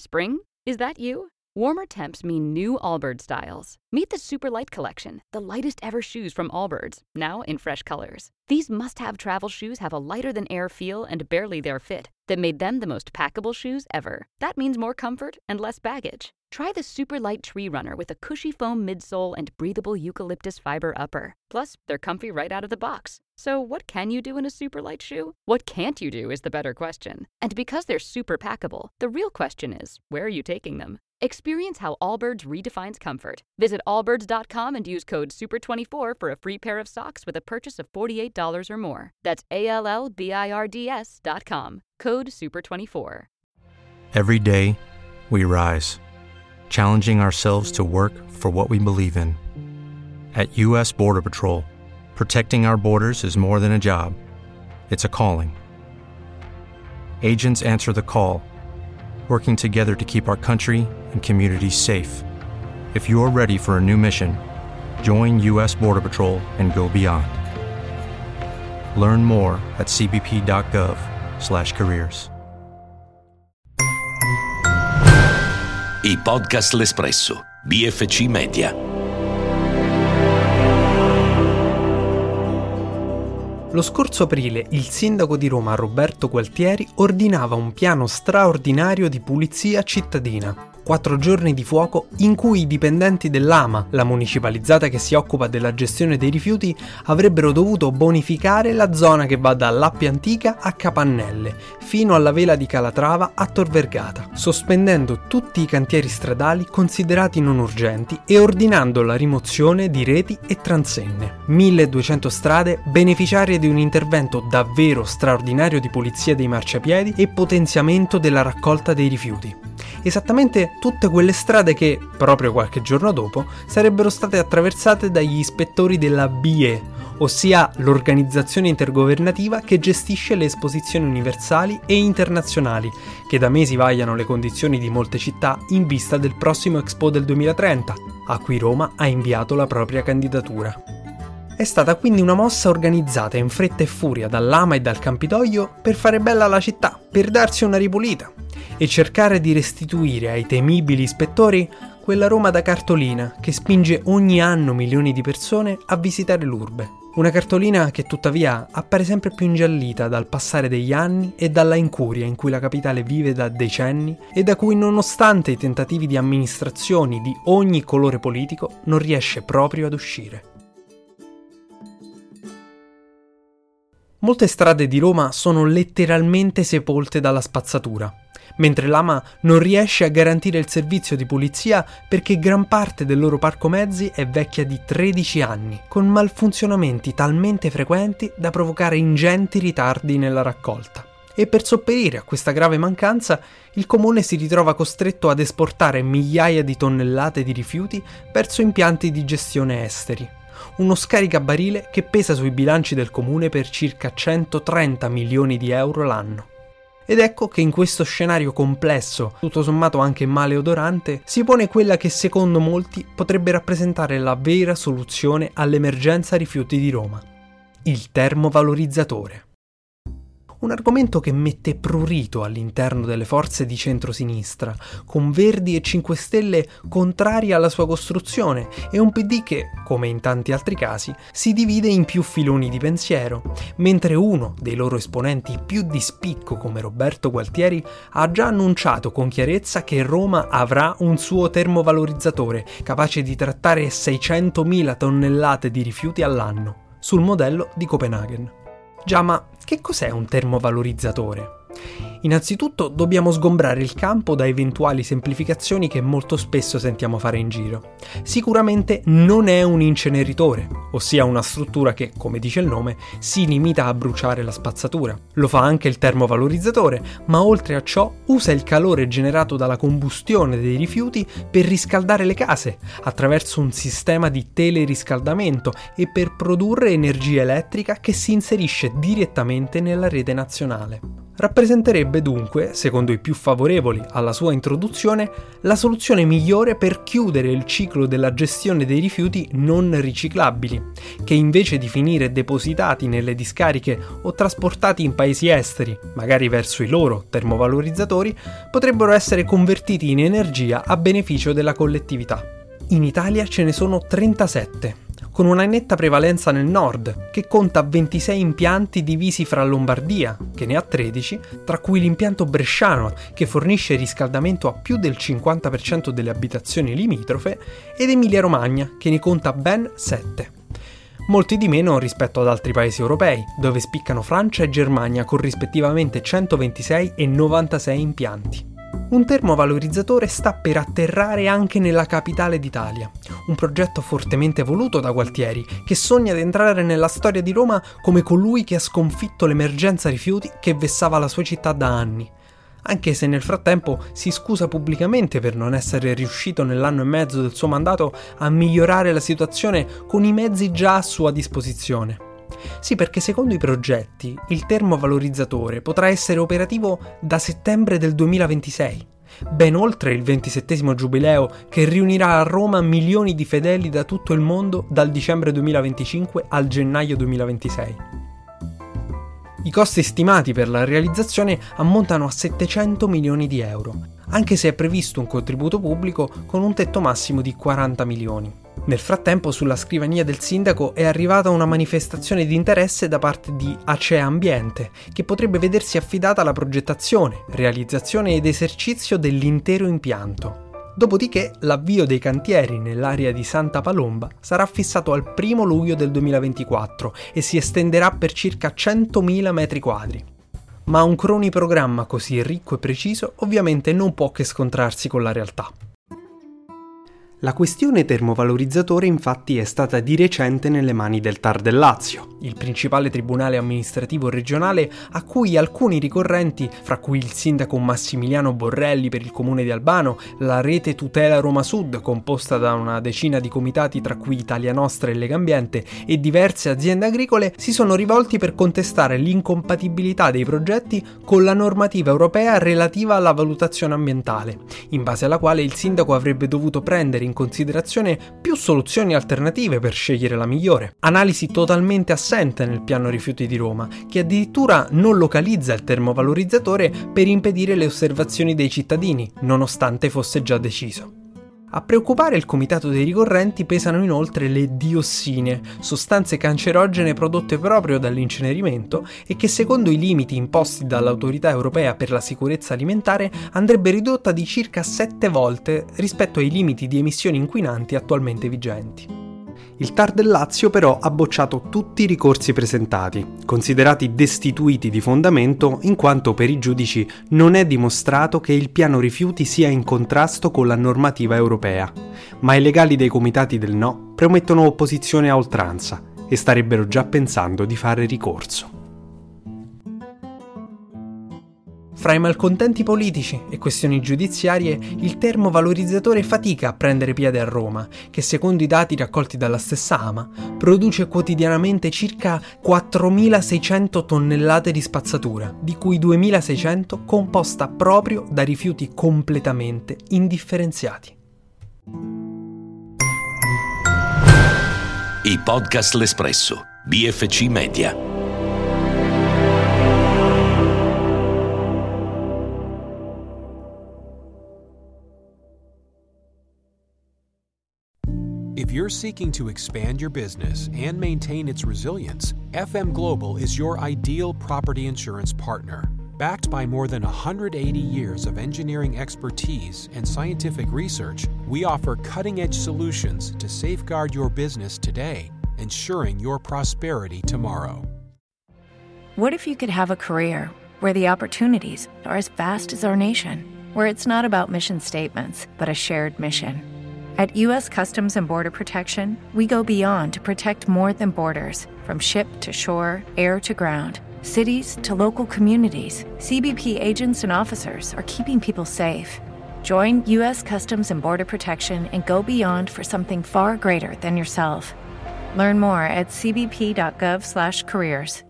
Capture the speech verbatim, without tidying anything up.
Spring? Is that you? Warmer temps mean new Allbirds styles. Meet the Super Light Collection, the lightest ever shoes from Allbirds, now in fresh colors. These must-have travel shoes have a lighter-than-air feel and barely-there fit that made them the most packable shoes ever. That means more comfort and less baggage. Try the Super Light Tree Runner with a cushy foam midsole and breathable eucalyptus fiber upper. Plus, they're comfy right out of the box. So what can you do in a super light shoe? What can't you do is the better question. And because they're super packable, the real question is, where are you taking them? Experience how Allbirds redefines comfort. Visit allbirds dot com and use code super twenty-four for a free pair of socks with a purchase of forty-eight dollars or more. That's A L L B I R D S dot com. Code super twenty-four. Every day, we rise, challenging ourselves to work for what we believe in. At U S Border Patrol, protecting our borders is more than a job. It's a calling. Agents answer the call, working together to keep our country and communities safe. If you're ready for a new mission, join U S Border Patrol and go beyond. Learn more at c b p dot gov slash careers. I podcast L'Espresso, B F C Media. Lo scorso aprile il sindaco di Roma Roberto Gualtieri ordinava un piano straordinario di pulizia cittadina. Quattro giorni di fuoco in cui i dipendenti dell'A M A, la municipalizzata che si occupa della gestione dei rifiuti, avrebbero dovuto bonificare la zona che va dall'Appia Antica a Capannelle, fino alla vela di Calatrava a Tor Vergata, sospendendo tutti i cantieri stradali considerati non urgenti e ordinando la rimozione di reti e transenne. milleduecento strade beneficiarie di un intervento davvero straordinario di pulizia dei marciapiedi e potenziamento della raccolta dei rifiuti. Esattamente tutte quelle strade che, proprio qualche giorno dopo, sarebbero state attraversate dagli ispettori della B E, ossia l'organizzazione intergovernativa che gestisce le esposizioni universali e internazionali, che da mesi vagliano le condizioni di molte città in vista del prossimo Expo del duemilatrenta, a cui Roma ha inviato la propria candidatura. È stata quindi una mossa organizzata in fretta e furia dall'A M A e dal Campidoglio per fare bella la città, per darsi una ripulita e cercare di restituire ai temibili ispettori quella Roma da cartolina che spinge ogni anno milioni di persone a visitare l'urbe. Una cartolina che tuttavia appare sempre più ingiallita dal passare degli anni e dalla incuria in cui la capitale vive da decenni e da cui, nonostante i tentativi di amministrazioni di ogni colore politico, non riesce proprio ad uscire. Molte strade di Roma sono letteralmente sepolte dalla spazzatura, mentre l'A M A non riesce a garantire il servizio di pulizia perché gran parte del loro parco mezzi è vecchia di tredici anni, con malfunzionamenti talmente frequenti da provocare ingenti ritardi nella raccolta. E per sopperire a questa grave mancanza, il comune si ritrova costretto ad esportare migliaia di tonnellate di rifiuti verso impianti di gestione esteri. Uno scaricabarile che pesa sui bilanci del comune per circa centotrenta milioni di euro l'anno. Ed ecco che in questo scenario complesso, tutto sommato anche maleodorante, si pone quella che secondo molti potrebbe rappresentare la vera soluzione all'emergenza rifiuti di Roma: il termovalorizzatore. Un argomento che mette prurito all'interno delle forze di centrosinistra, con Verdi e cinque Stelle contrari alla sua costruzione e un P D che, come in tanti altri casi, si divide in più filoni di pensiero, mentre uno dei loro esponenti più di spicco come Roberto Gualtieri ha già annunciato con chiarezza che Roma avrà un suo termovalorizzatore capace di trattare seicentomila tonnellate di rifiuti all'anno, sul modello di Copenaghen. Già, ma che cos'è un termovalorizzatore? Innanzitutto dobbiamo sgombrare il campo da eventuali semplificazioni che molto spesso sentiamo fare in giro. Sicuramente non è un inceneritore, ossia una struttura che, come dice il nome, si limita a bruciare la spazzatura. Lo fa anche il termovalorizzatore, ma oltre a ciò usa il calore generato dalla combustione dei rifiuti per riscaldare le case, attraverso un sistema di teleriscaldamento e per produrre energia elettrica che si inserisce direttamente nella rete nazionale. rappresenterebbe dunque, secondo i più favorevoli alla sua introduzione, la soluzione migliore per chiudere il ciclo della gestione dei rifiuti non riciclabili, che invece di finire depositati nelle discariche o trasportati in paesi esteri, magari verso i loro termovalorizzatori, potrebbero essere convertiti in energia a beneficio della collettività. In Italia ce ne sono trentasette, con una netta prevalenza nel nord, che conta ventisei impianti divisi fra Lombardia, che ne ha tredici, tra cui l'impianto bresciano, che fornisce riscaldamento a più del cinquanta per cento delle abitazioni limitrofe, ed Emilia-Romagna, che ne conta ben sette. Molti di meno rispetto ad altri paesi europei, dove spiccano Francia e Germania con rispettivamente centoventisei e novantasei impianti. Un termovalorizzatore sta per atterrare anche nella capitale d'Italia, un progetto fortemente voluto da Gualtieri, che sogna di entrare nella storia di Roma come colui che ha sconfitto l'emergenza rifiuti che vessava la sua città da anni, anche se nel frattempo si scusa pubblicamente per non essere riuscito nell'anno e mezzo del suo mandato a migliorare la situazione con i mezzi già a sua disposizione. Sì, perché secondo i progetti il termovalorizzatore potrà essere operativo da settembre del duemilaventisei, ben oltre il ventisettesimo giubileo che riunirà a Roma milioni di fedeli da tutto il mondo dal dicembre duemilaventicinque al gennaio duemilaventisei. I costi stimati per la realizzazione ammontano a settecento milioni di euro, anche se è previsto un contributo pubblico con un tetto massimo di quaranta milioni. Nel frattempo, sulla scrivania del sindaco è arrivata una manifestazione di interesse da parte di Acea Ambiente, che potrebbe vedersi affidata la progettazione, realizzazione ed esercizio dell'intero impianto. Dopodiché l'avvio dei cantieri nell'area di Santa Palomba sarà fissato al primo luglio del duemilaventiquattro e si estenderà per circa centomila metri quadri. Ma un croniprogramma così ricco e preciso ovviamente non può che scontrarsi con la realtà. La questione termovalorizzatore infatti è stata di recente nelle mani del T A R del Lazio, il principale tribunale amministrativo regionale a cui alcuni ricorrenti, fra cui il sindaco Massimiliano Borrelli per il comune di Albano, la rete Tutela Roma Sud composta da una decina di comitati tra cui Italia Nostra e Legambiente e diverse aziende agricole, si sono rivolti per contestare l'incompatibilità dei progetti con la normativa europea relativa alla valutazione ambientale, in base alla quale il sindaco avrebbe dovuto prendere in considerazione più soluzioni alternative per scegliere la migliore. Analisi totalmente assente nel piano rifiuti di Roma, che addirittura non localizza il termovalorizzatore per impedire le osservazioni dei cittadini, nonostante fosse già deciso. A preoccupare il comitato dei ricorrenti pesano inoltre le diossine, sostanze cancerogene prodotte proprio dall'incenerimento e che secondo i limiti imposti dall'Autorità Europea per la Sicurezza Alimentare andrebbe ridotta di circa sette volte rispetto ai limiti di emissioni inquinanti attualmente vigenti. Il T A R del Lazio però ha bocciato tutti i ricorsi presentati, considerati destituiti di fondamento in quanto per i giudici non è dimostrato che il piano rifiuti sia in contrasto con la normativa europea, ma i legali dei comitati del no promettono opposizione a oltranza e starebbero già pensando di fare ricorso. Fra i malcontenti politici e questioni giudiziarie, il termovalorizzatore fatica a prendere piede a Roma, che secondo i dati raccolti dalla stessa A M A, produce quotidianamente circa quattromilaseicento tonnellate di spazzatura, di cui duemilaseicento composta proprio da rifiuti completamente indifferenziati. I podcast L'Espresso, B F C Media. If you're seeking to expand your business and maintain its resilience, F M Global is your ideal property insurance partner. Backed by more than one hundred eighty years of engineering expertise and scientific research, we offer cutting-edge solutions to safeguard your business today, ensuring your prosperity tomorrow. What if you could have a career where the opportunities are as vast as our nation, where it's not about mission statements, but a shared mission? At U S Customs and Border Protection, we go beyond to protect more than borders. From ship to shore, air to ground, cities to local communities, C B P agents and officers are keeping people safe. Join U S Customs and Border Protection and go beyond for something far greater than yourself. Learn more at c b p dot gov slash careers.